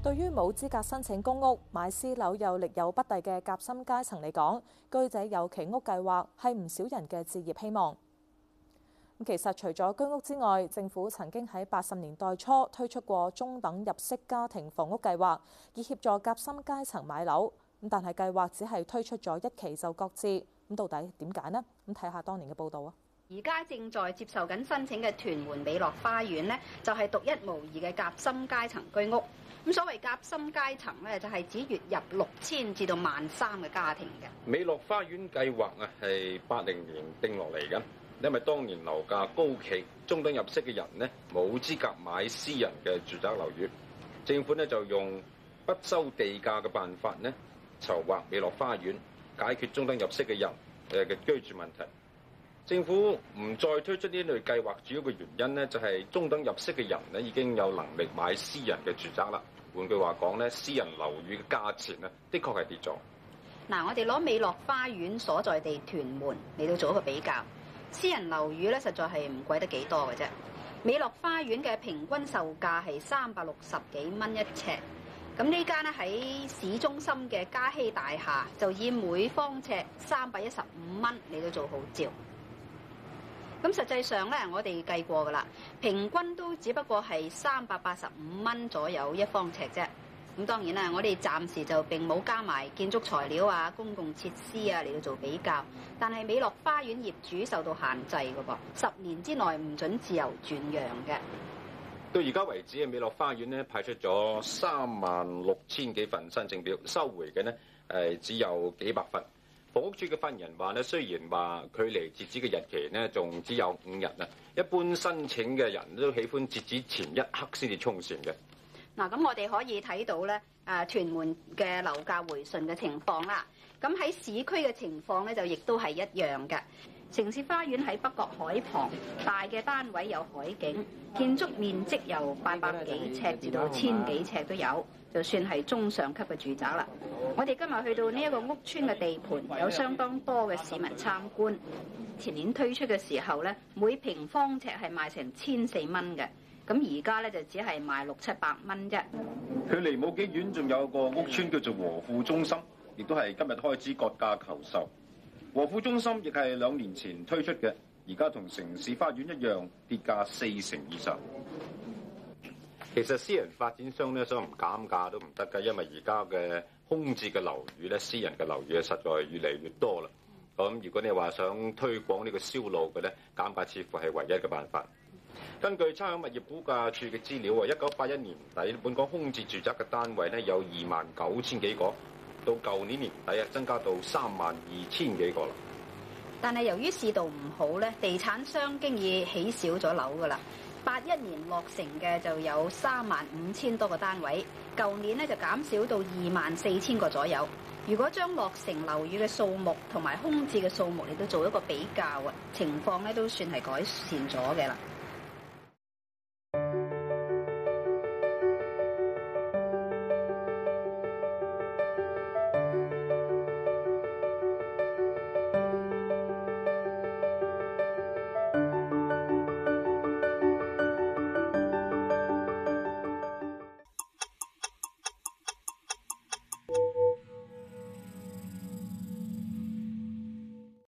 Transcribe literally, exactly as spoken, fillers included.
對於冇資格申請公屋、買私樓又力有不逮嘅夾心階層嚟講，居者有其屋計劃係唔少人嘅置業希望。其實除咗居屋之外，政府曾經喺八十年代初推出過中等入息家庭房屋計劃，以協助夾心階層買樓。咁但係計劃只係推出咗一期就擱置。咁到底點解呢？咁睇下當年嘅報導啊！ 而家正在接受緊申請嘅屯門美樂花園呢，就係獨一無二嘅夾心階層居屋。咁所謂夾心階層咧，就係指月入六千至到萬三嘅家庭嘅。 美樂花園計劃啊，係八零年定落嚟嘅，因為當年樓價高企，中等入息嘅人呢冇資格買私人嘅住宅樓宇，政府呢就用不收地價嘅辦法呢籌劃美樂花園，解決中等入息嘅人誒嘅居住問題。政府唔再推出呢類計劃，主要嘅原因呢，就係中等入息嘅人呢已經有能力買私人嘅住宅啦。換句話講呢，私人樓宇嘅價錢呢，的確係跌咗。 嗱，我哋攞美樂花園所在地屯門嚟到做一個比較，私人樓宇咧實在係唔貴得幾多嘅啫。美樂花園嘅平均售價係三百六十幾蚊一尺，咁呢間咧喺市中心嘅嘉禧大廈就以每方尺三百一十五蚊嚟到做號召。咁實際上咧，我哋計過噶啦，平均都只不過係三百八十五蚊左右一方尺啫。咁當然啦，我哋暫時就並冇加埋建築材料啊、公共設施啊嚟到做比較。但係美樂花園業主受到限制嘅噃，十年之內唔准自由轉讓嘅。 到而家為止嘅美樂花園咧派出咗三萬六千幾份申請表，收回嘅呢誒只有幾百份。房屋署嘅發言人話咧，雖然話距離截止嘅日期呢仲只有五日啊，一般申請嘅人都喜歡截止前一刻先至衝線嘅。 嗱，咁我哋可以睇到咧，誒屯門嘅樓價回順嘅情況啦。咁喺市區嘅情況咧，就亦都係一樣嘅。城市花園喺北角海旁，大嘅單位有海景，建築面積由八百幾尺至到千幾尺都有，就算係中上級嘅住宅啦。我哋今日去到呢一個屋邨嘅地盤，有相當多嘅市民參觀。前年推出嘅時候咧，每平方尺係賣成千四蚊嘅，咁而家咧就只係賣六七百蚊啫。 距離冇幾遠，仲有個屋邨叫做和富中心，亦都係今日開始割價求售。和富中心亦係兩年前推出嘅，而家同城市花園一樣跌價四成以上。 其實私人發展商咧想唔減價都唔得㗎，因為而家嘅空置嘅樓宇咧，私人嘅樓宇咧實在越嚟越多啦。咁如果你話想推廣呢個銷路嘅咧，減價似乎係唯一嘅辦法。根據差餉物業估價署嘅資料啊，一九八一年底本港空置住宅嘅單位咧有二萬九千幾個，到舊年年底啊增加到三萬二千幾個啦。 但係由於市道唔好咧，地產商經已起少咗樓噶啦。八一年落成嘅就有三萬五千多個單位，舊年咧就減少到二萬四千個左右。如果將落成樓宇嘅數目同埋空置嘅數目嚟到做一個比較啊，情況咧都算係改善咗嘅啦。